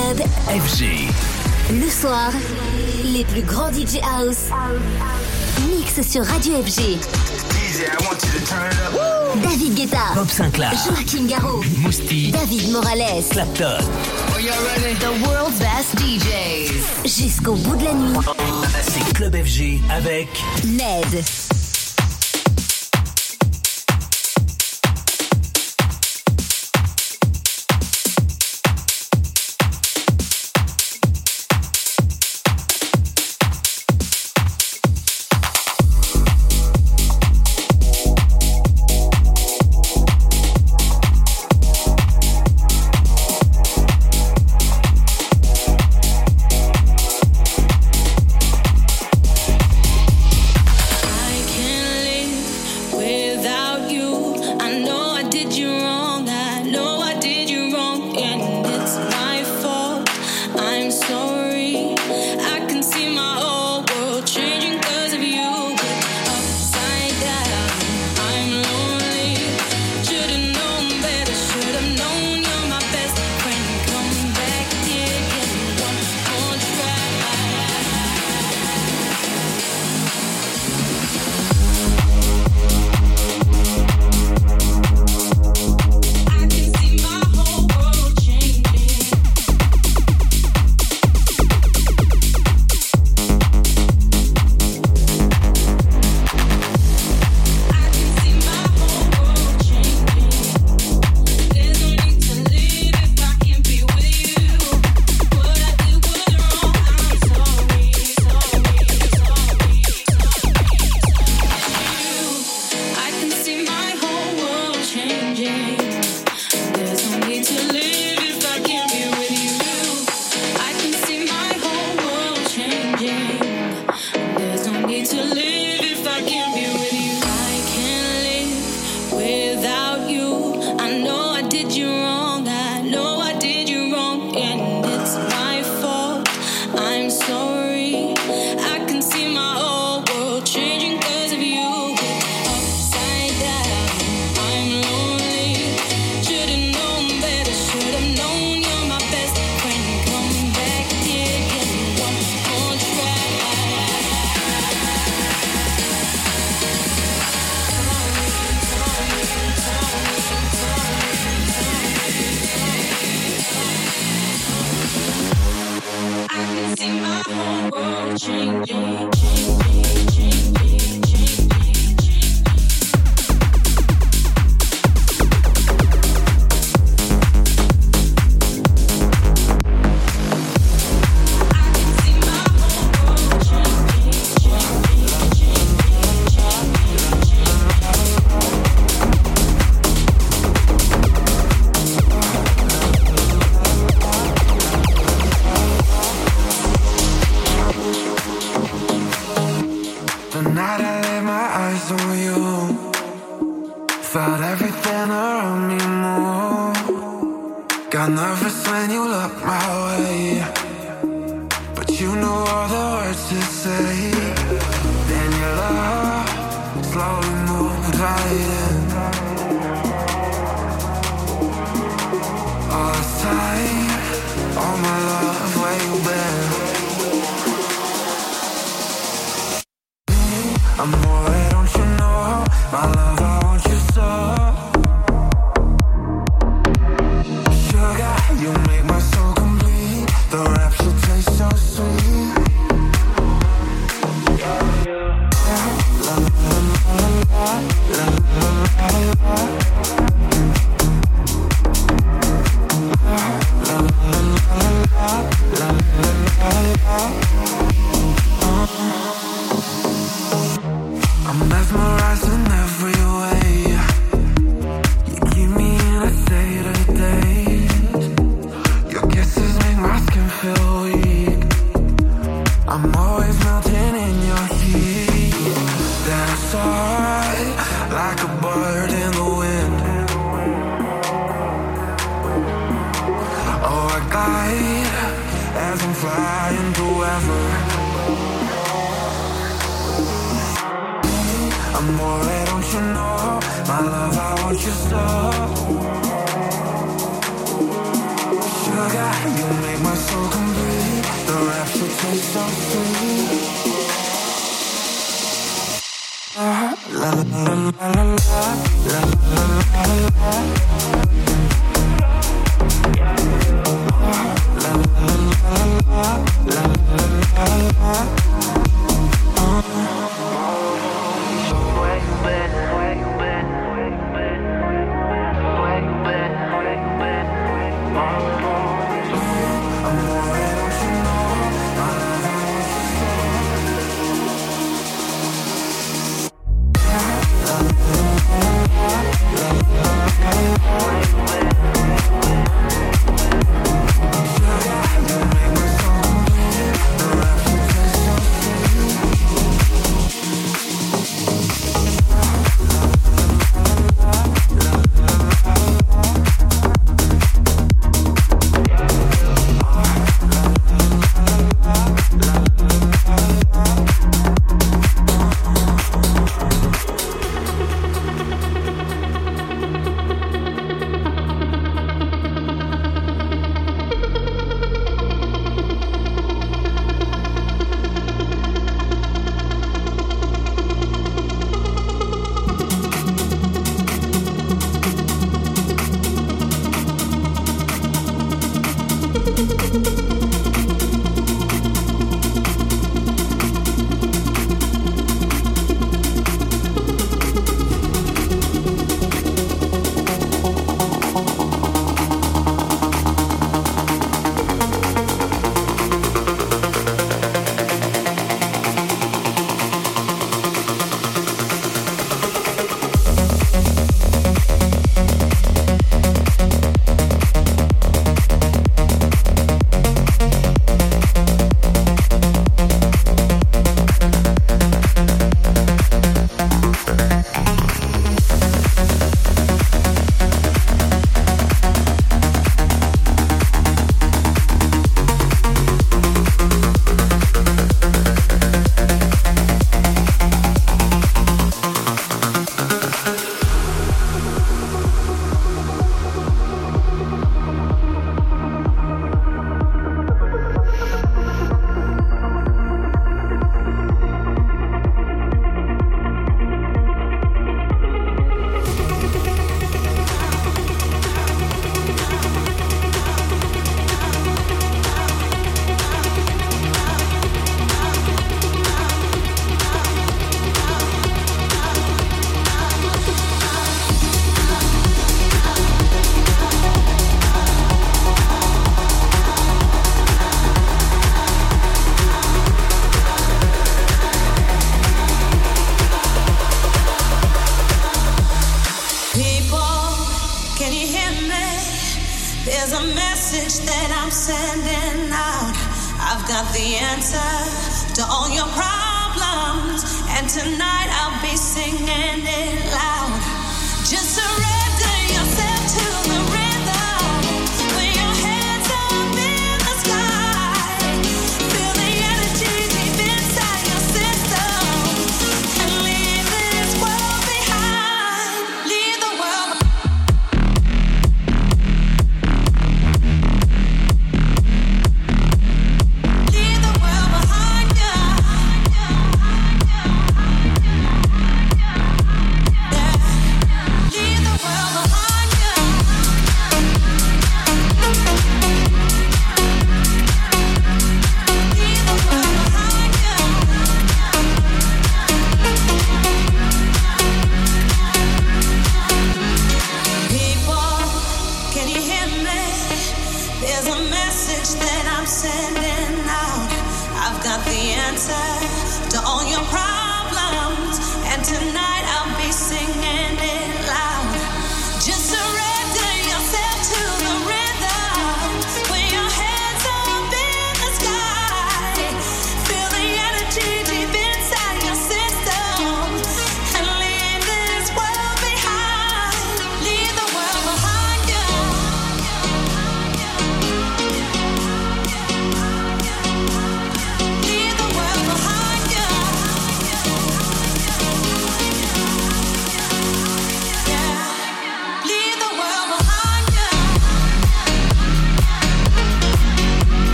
Club FG. Le soir, les plus grands DJ House mix sur Radio FG. DJ, I want you to turn it up. David Guetta, Bob Sinclair, Joachim Garraud, Mousti, David Morales, Clapton. Are you ready? The world's best DJs. Jusqu'au bout de la nuit. C'est Club FG avec Ned. You make my my soul complete. The rapture tastes so sweet. La la la la la la la la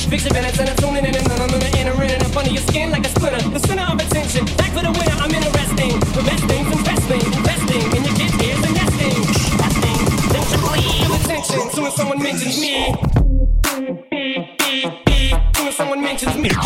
Fix your minutes and I'm tuning in and I'm entering up under your skin like a splinter. The center of attention, back for the winner, I'm interesting. The best things, investing in your kids' ears and nesting. Resting, then triple attention. Soon as someone mentions me. Soon as someone mentions me.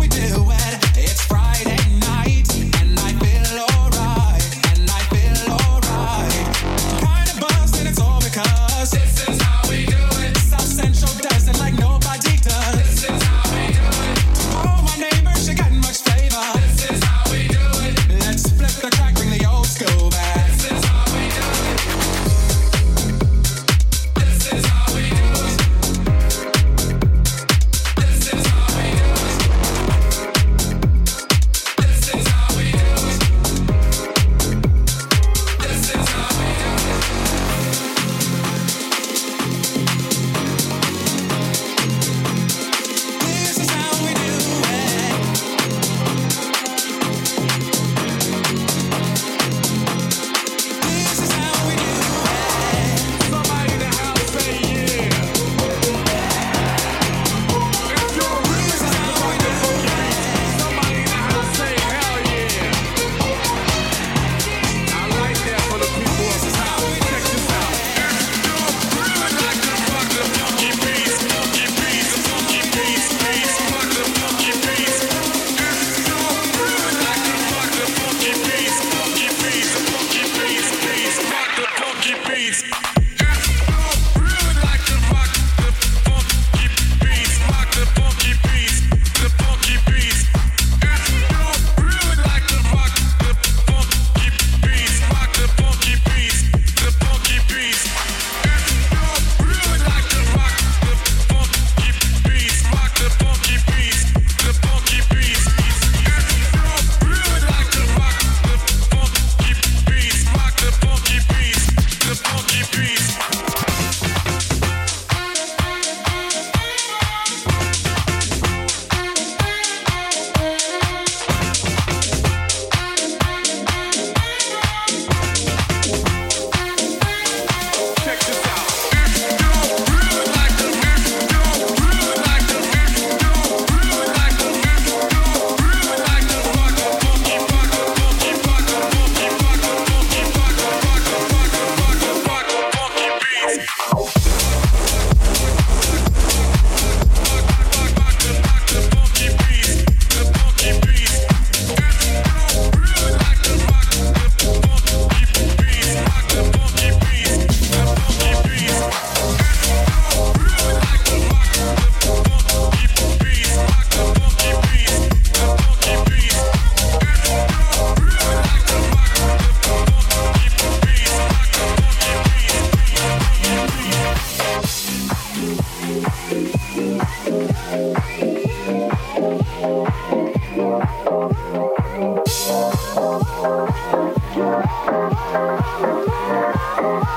It's Friday night and I feel alright.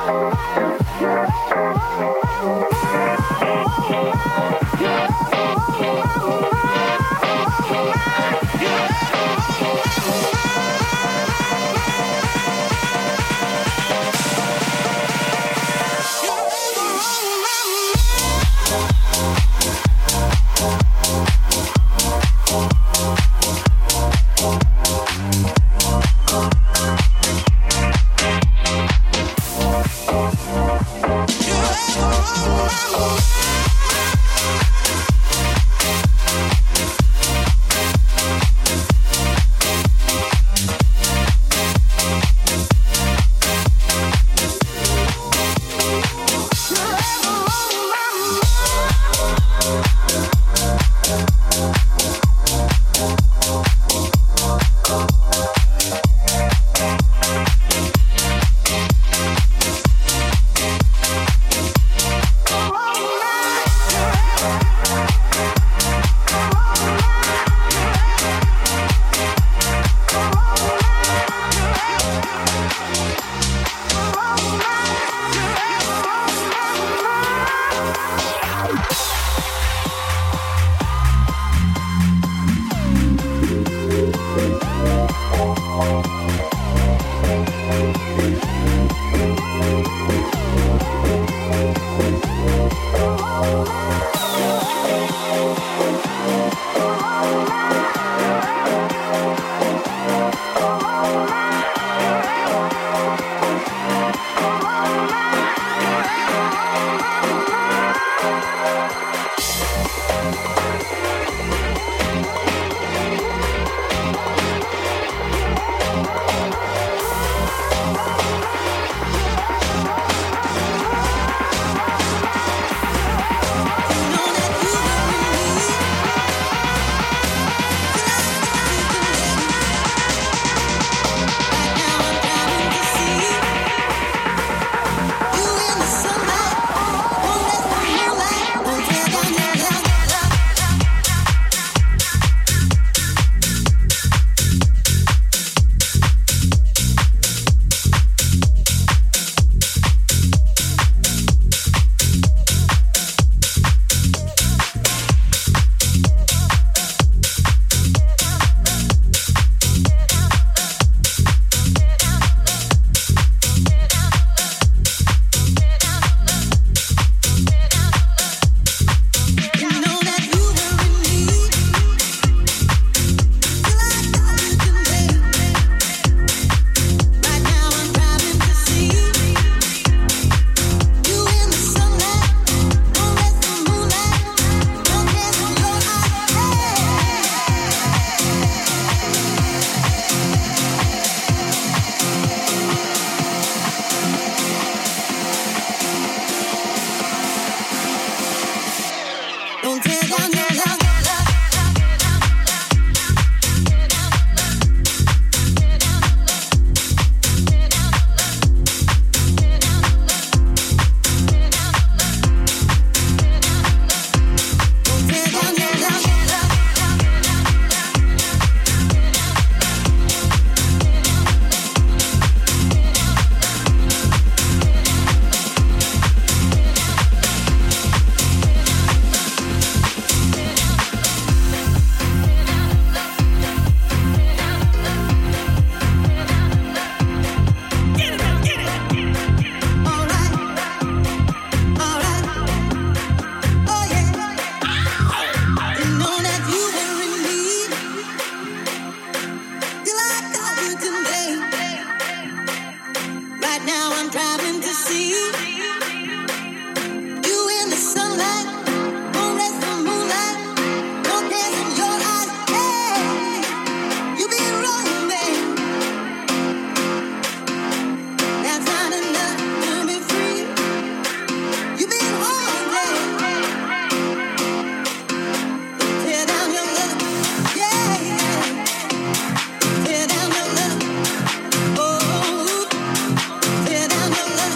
Tear down your love.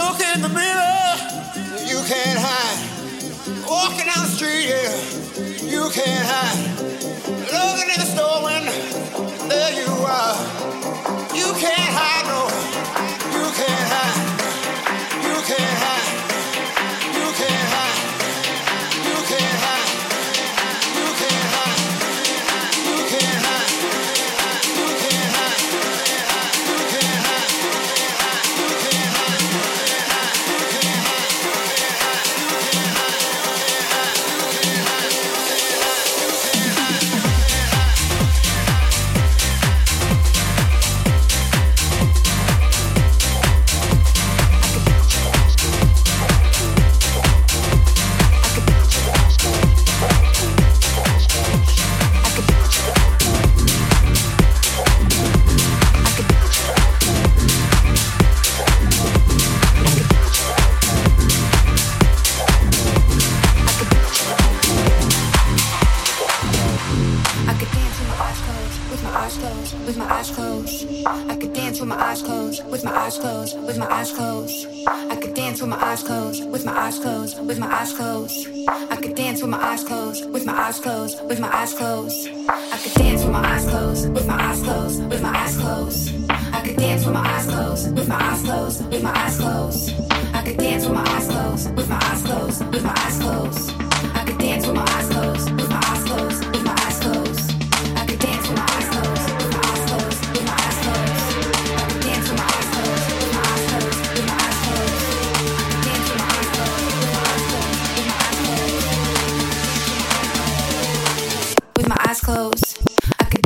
Look in the mirror, you can't hide. Walking down the street, yeah, you can't hide. Looking in the store window, there you are. You can't hide, no, you can't hide. You can't hide. You can't hide. You can't hide. You can't hide. You can't hide. You can't hide. You can't hide. You can't hide. With my eyes closed, with my eyes closed, I could dance with my eyes closed, with my eyes closed, with my eyes closed. I could dance with my eyes closed, with my eyes closed, with my eyes closed. I could dance with my eyes closed, with my eyes closed, with my eyes closed. I could dance with my eyes closed, with my eyes closed, with my eyes closed. I could dance with my eyes closed, with my eyes closed, with my eyes closed. I could dance with my eyes closed, with my eyes closed, with my eyes closed. I could dance with my eyes closed, with my eyes closed, with my eyes closed. With my eyes closed, I could.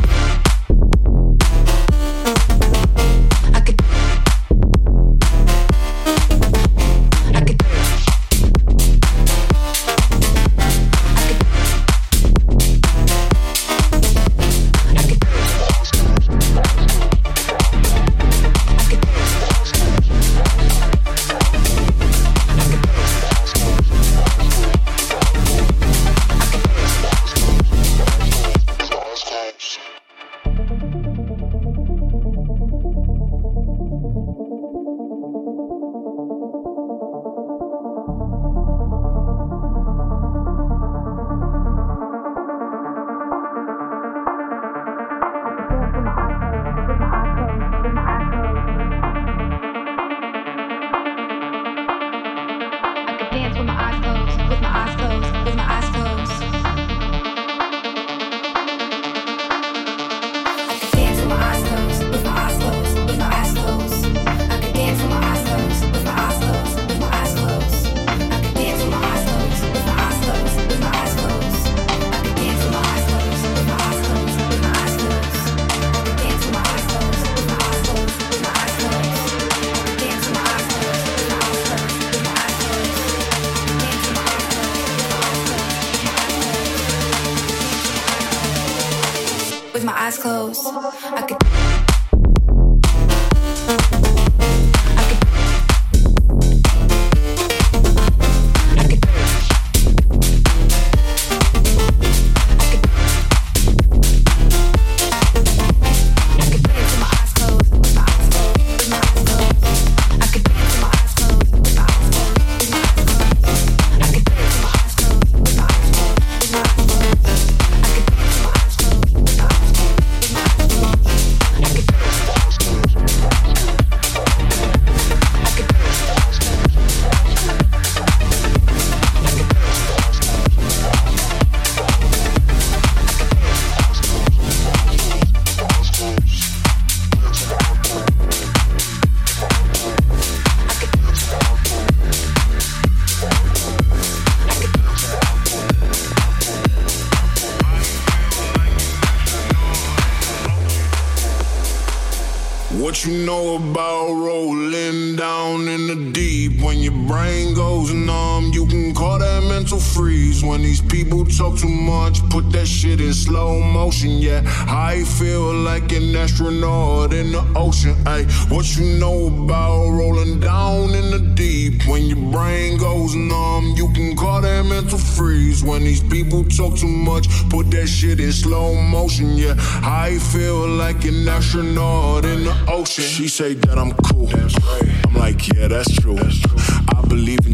What you know about rolling down in the deep? When your brain goes numb, you can call that mental freeze. When these people talk too much, put that shit in slow motion, yeah. I feel like an astronaut in the ocean, ayy. What you know about rolling down in the deep? When your brain goes numb, you can call that mental freeze. When these people talk too much, put that shit in slow motion, yeah. I feel like an astronaut in the ocean. She say that I'm cool. That's right. I'm like, yeah, that's true.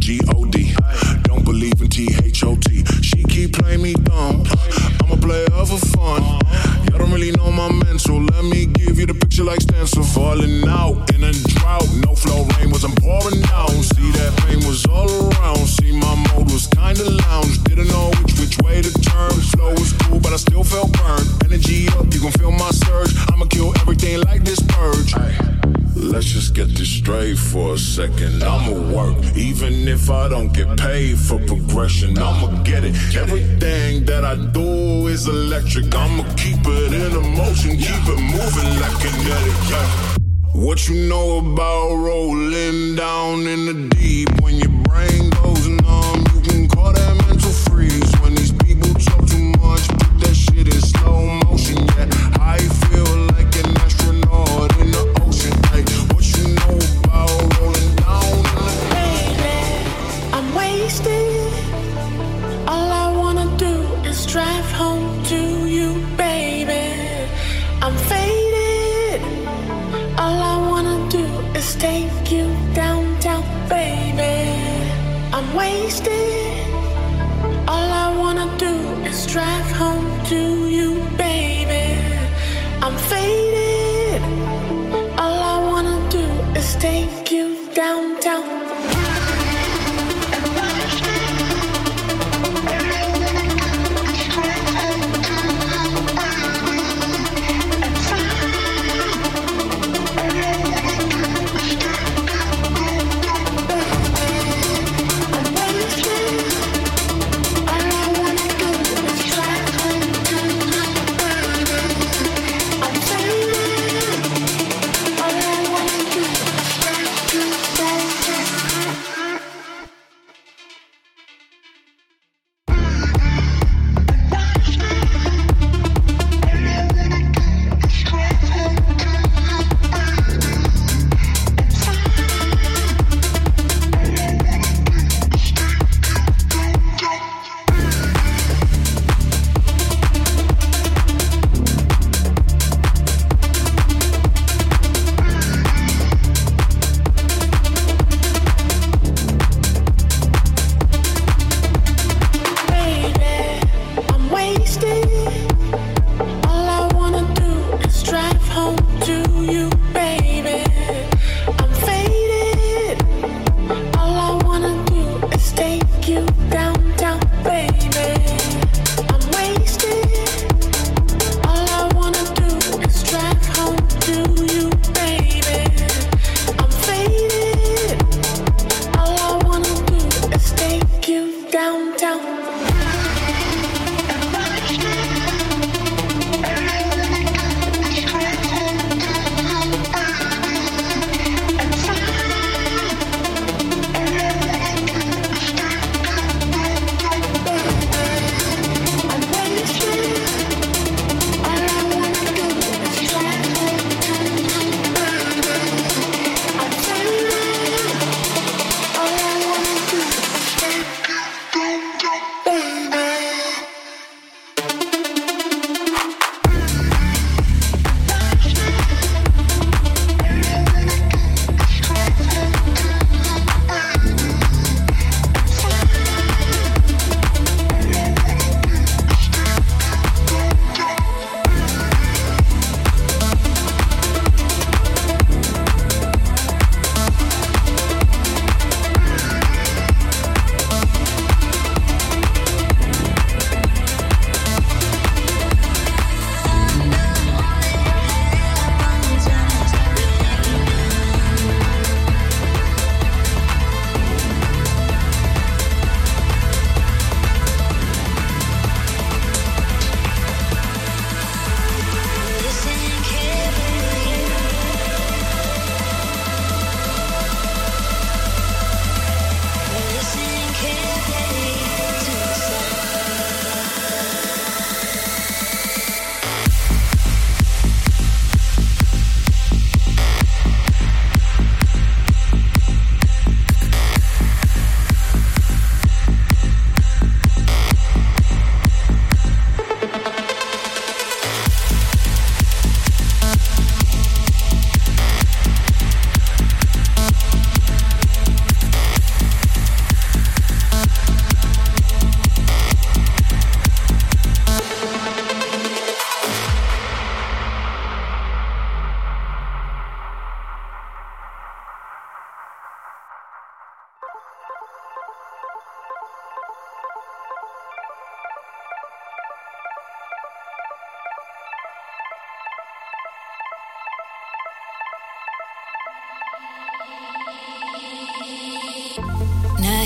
G-O-D. Don't believe in T-H-O-T. She keep playing me dumb. I'm a player for fun. Y'all don't really know my mental. Let me give you the picture like stencil. Falling out in a drought. No flow rain wasn't pouring down. See that pain was all around. See my mode was kinda lounge. Didn't know which way to turn. Flow was cool, but I still felt burned. Energy up, you gon' feel my surge. I'ma kill everything like this purge. Let's just get this straight for a second. I'ma work, even if I don't get paid for progression. I'ma get it. Everything that I do is electric. I'ma keep it in motion, keep it moving like kinetic. Yeah. What you know about rolling down in the deep? When your brain goes numb, you can call that mental freeze. When these people talk too much, put that shit in slow motion. Yeah, I feel like an astronaut in the ocean. Hey, what you know about rolling down in the deep? Baby, I'm wasted. All I wanna do is drive home to you, baby. I'm faded. All I wanna do is take you downtown, baby. I'm wasted. All I wanna do is drive home to you, baby. I'm faded. All I wanna do is take you downtown. All I wanna do is drive home to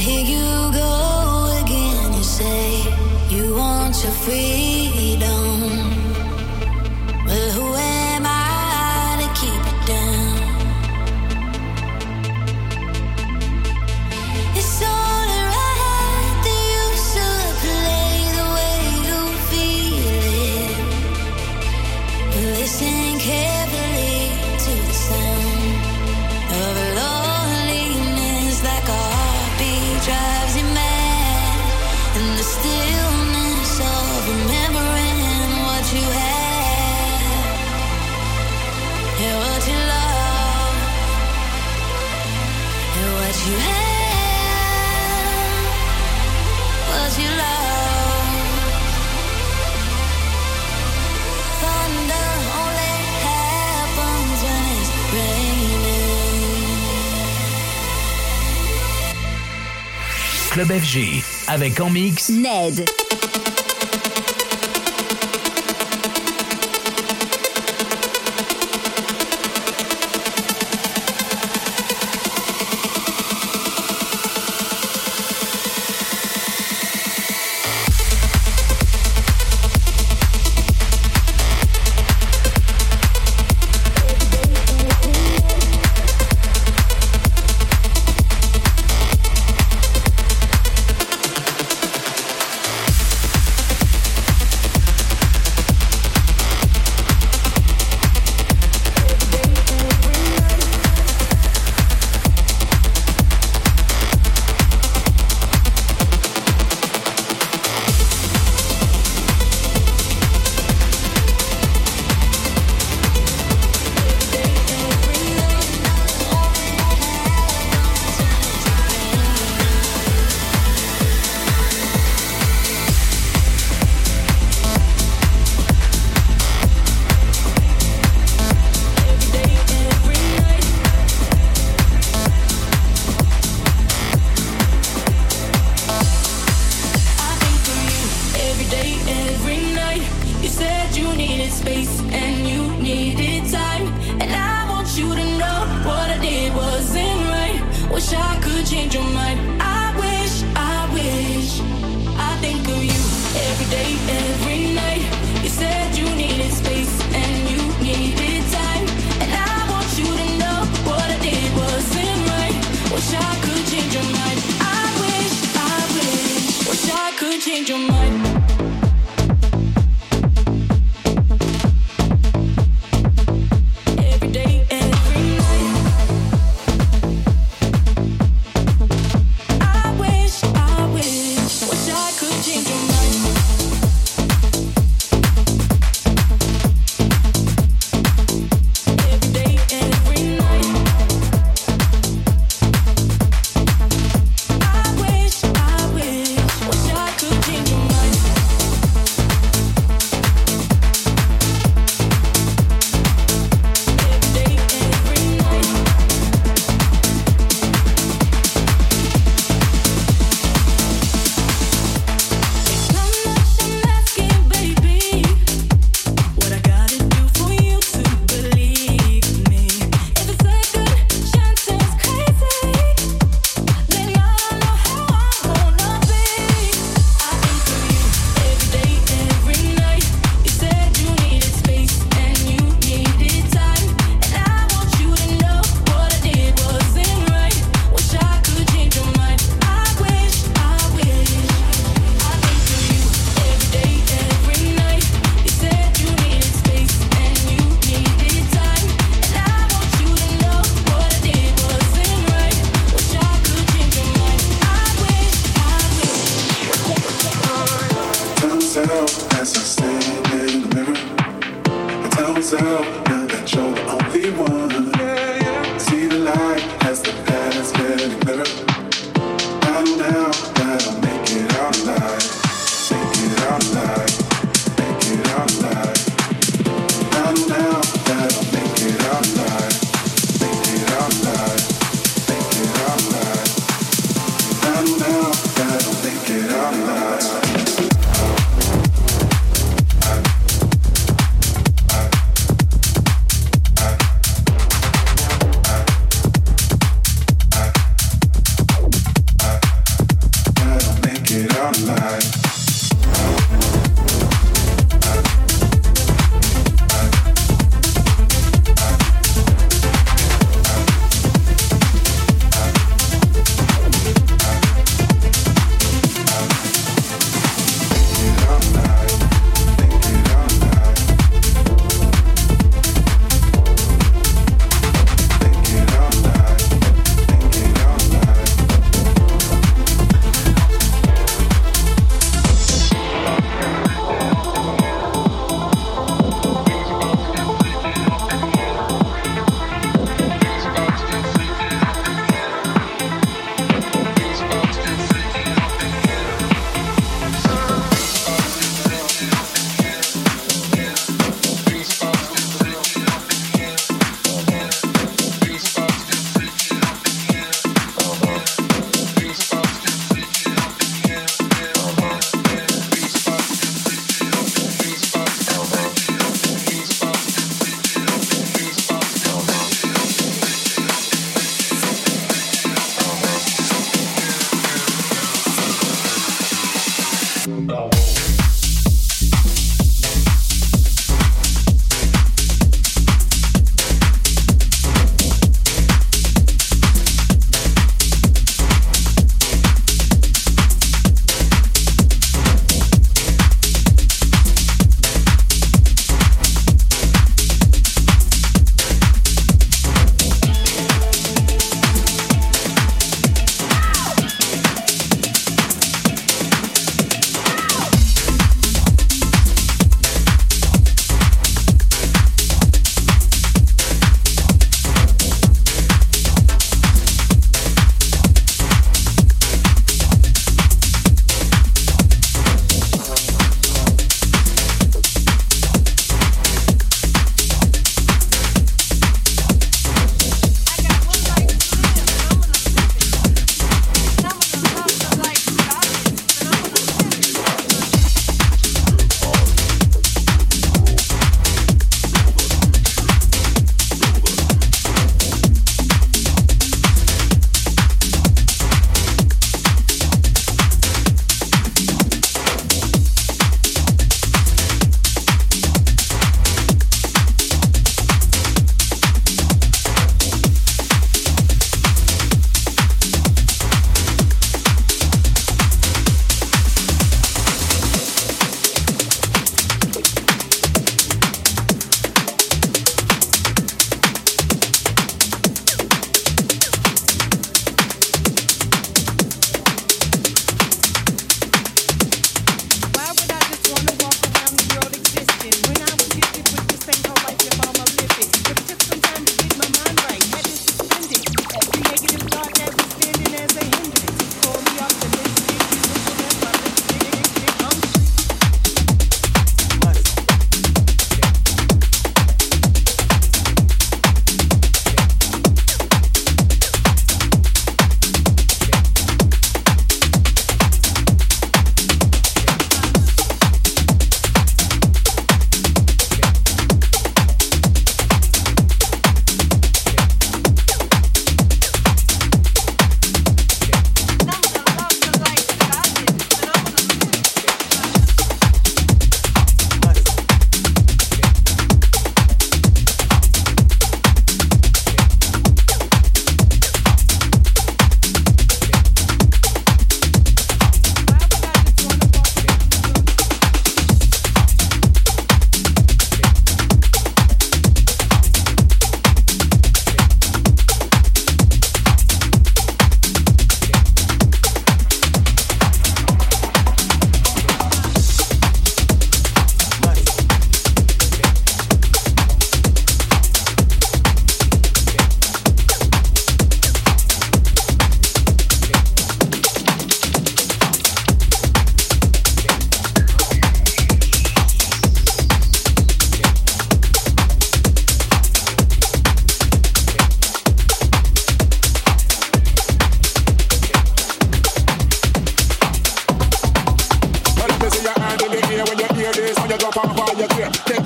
here you go again. You say you want your freedom. Well, who am I to keep it down? It's only right that you should play the way you feel it. Listen carefully to the sound of loneliness, like a heartbeat drives you mad, and the stillness of remembering what you had, and what you love, and what you had, what you love. Thunder only happens when it's raining. Club FG avec en mix Ned.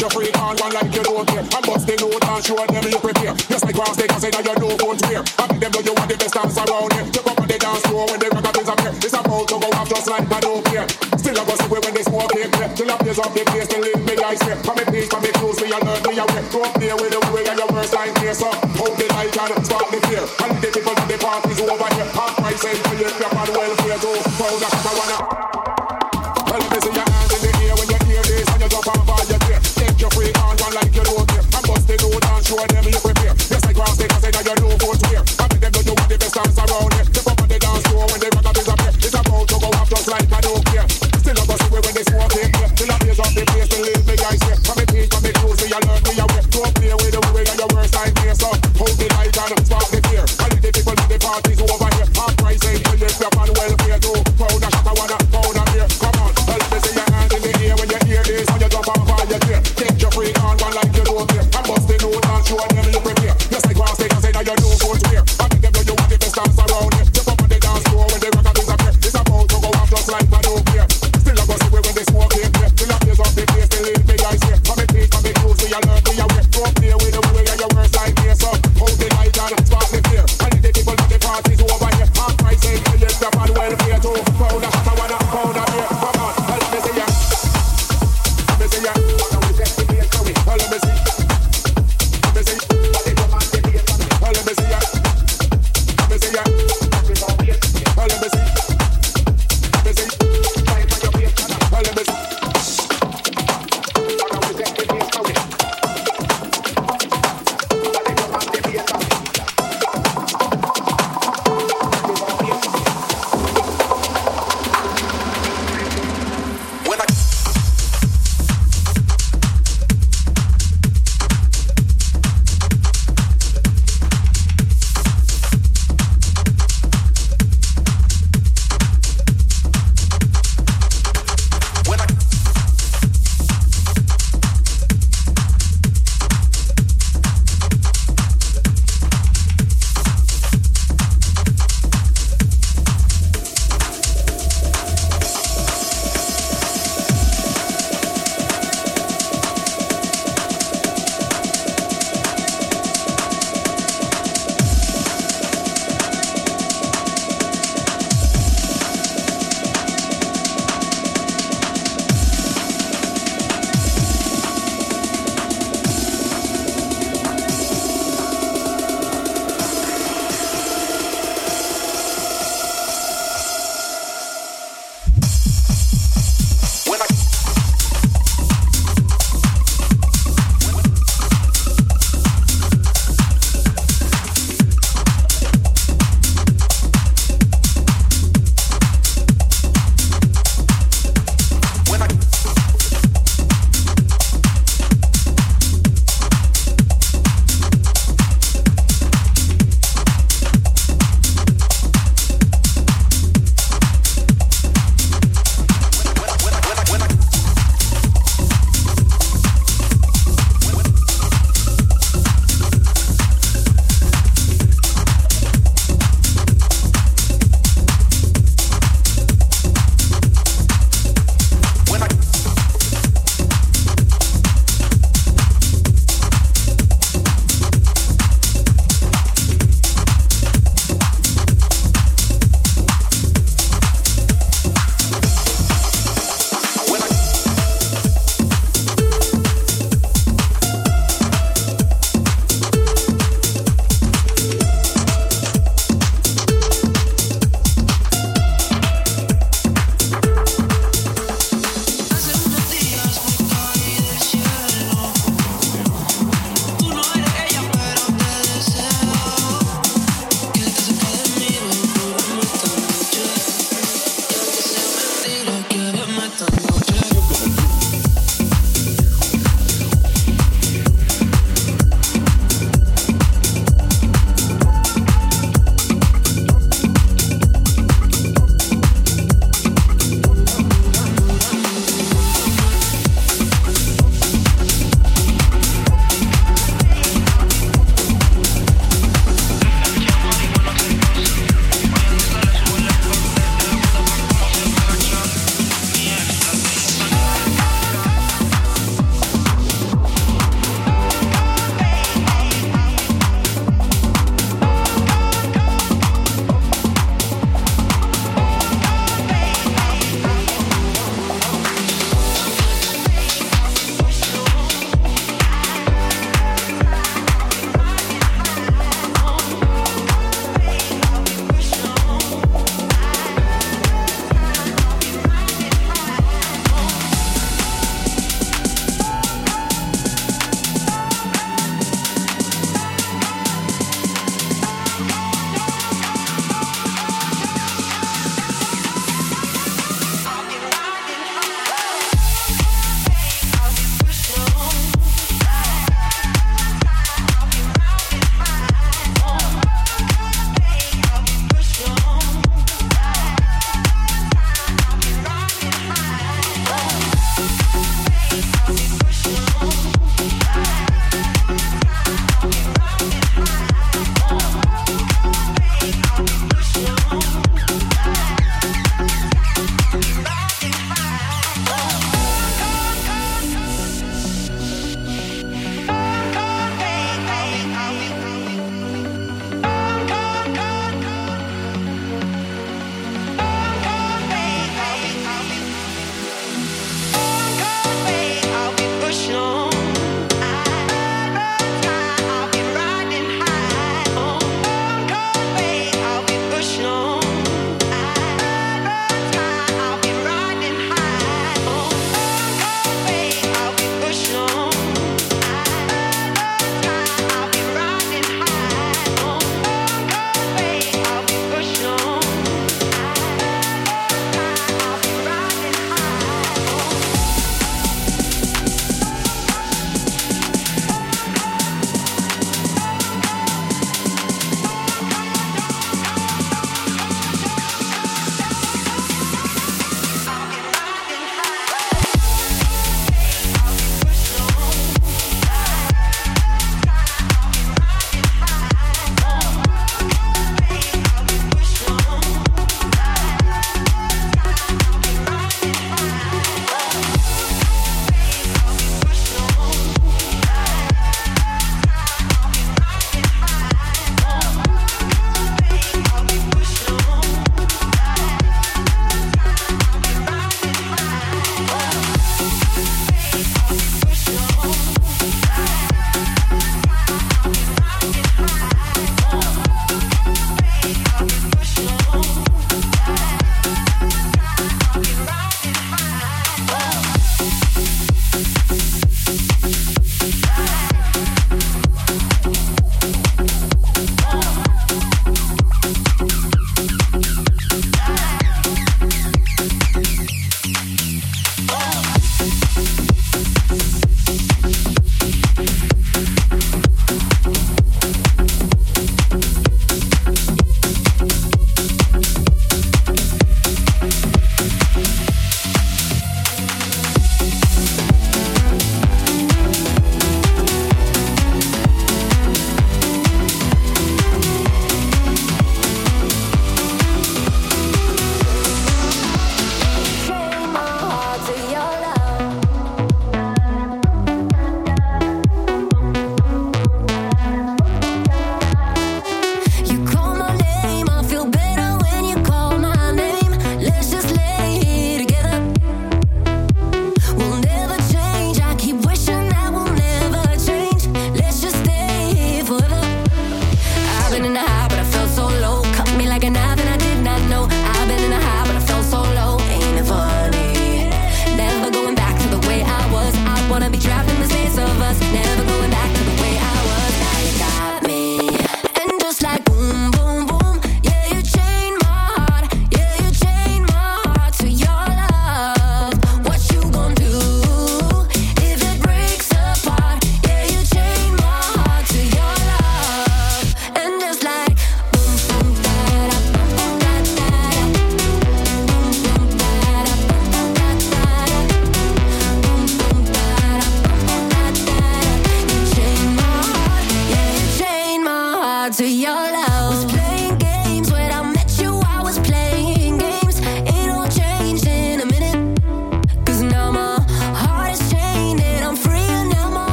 your freak on one like you don't care. And bust the note and show them you prepare. Just like cross take and say that you know won't wear. I make them know you want the best dance around here. Jump up on the dance floor when the record is up here. It's about to go off just like I don't care. Still I go see when they smoke here. Till I blaze up the place, till it me ice here. From me page, from me clothes, me alert, me aware. Go up there with the way and your worst time here. So hold the light and spark the fear. And the people of the parties over here. Half price and for your crap and welfare. Go found a wanna. Well, let me see your hands in the air when you hear this. And you jump off all your gear. Take your freak on one like you don't care. And bust the note and show them you prepare. Just like cross take and say that you know won't wear. I make them know you want the best dance around here. Jump up on the dance floor when the record is up here. It's about to go off just like I don't care. Still I go see when they smoke here. Till I blaze up the place, till it me ice here. From me page, from me clothes, me alert, me aware. Go up there with the way and your worst time here. So hold the light and spark the fear. And the people in the parties over here. Half price and for your crap and welfare. Go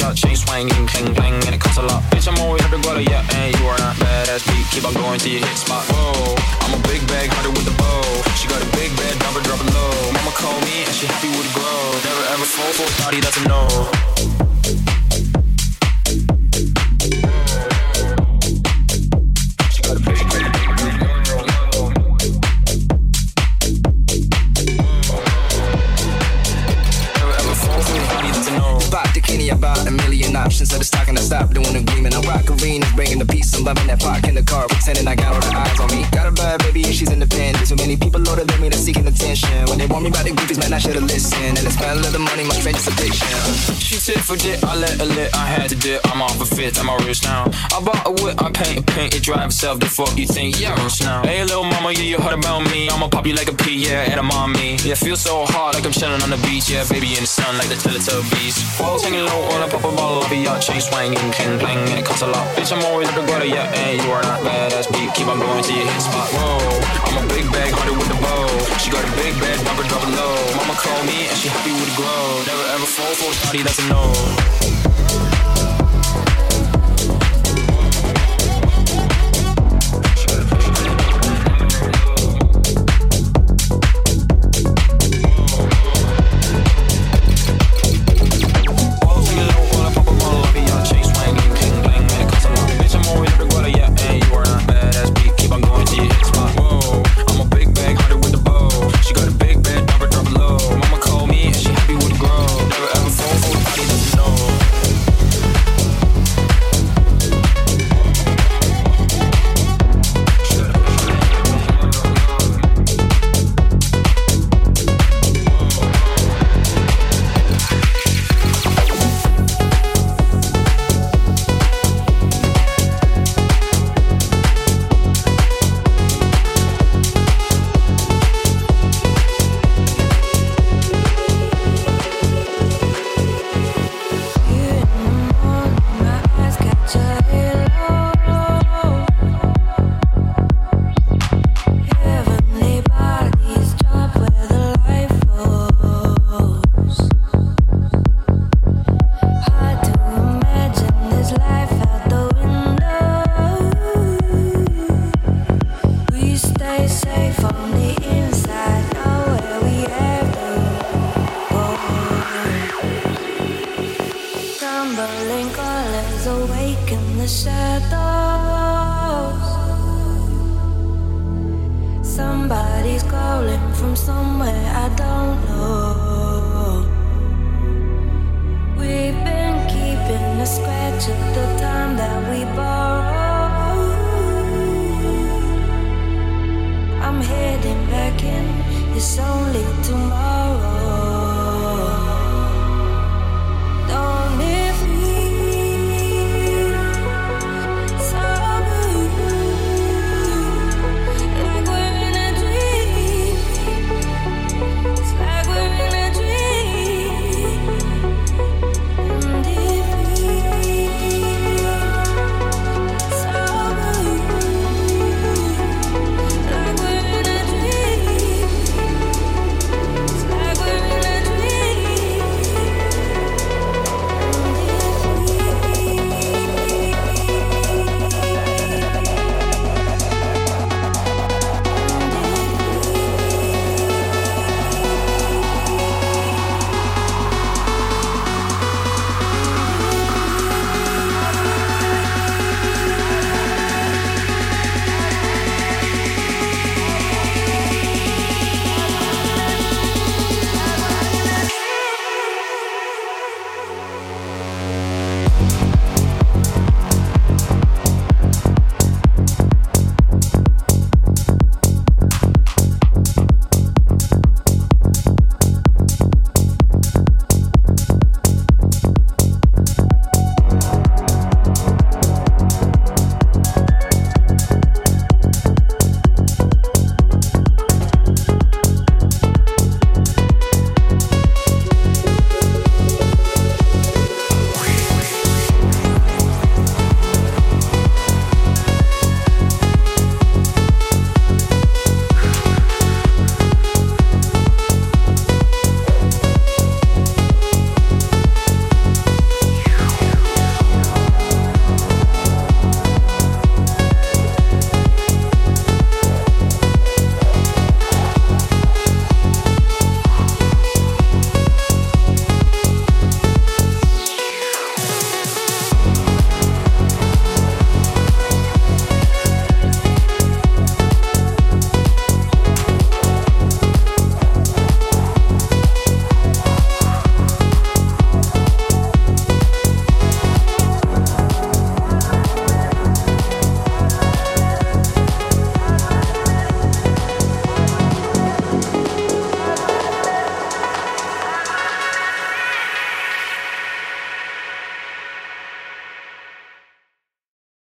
yacht, chain swinging, cling clang, and it costs a lot. Bitch, I'm always at the gutter, yeah, and you are not badass beat. Keep on going till you hit spot. Whoa, I'm a big bag hunter with the bow. She got a big bed, drop it low. Mama call me and she happy with the grow. Never ever fall for a thotty, that's a no. About a million options, so the stock and I stop doing agreement. I'm rock arenas, bringing the peace. I'm loving that park in the car, pretending I got all the eyes on me. Got a bad baby, and she's independent. So many people older than me, they're seeking attention. When they want me about the groupies, man, I should've listened. And it's spend a little money, my strangest addiction. She tit for tit, I let her lit. I had to dip, I'm off a fifth, I'm a rich now. I bought a whip, I paint a paint, it drive itself. The fuck you think, yeah, rich now. Hey, little mama, yeah, you heard about me. I'ma pop you like a pea, yeah, and I'm on me. Yeah, feel so hot, like I'm chilling on the beach. Yeah, baby in the sun, like the Teletubbies. Walls hanging low when I pop a bottle of a yacht, chain swinging, cling clang, and it costs a lot. Bitch, I'm always at the gutter, yeah, and you are not badass beat. Keep on going till you hit spot. Whoa, I'm a big bag hunter with the bow. She got a big bed, drop it low. Mama call me and she happy with the grow. Never ever fall for a party, that's a no.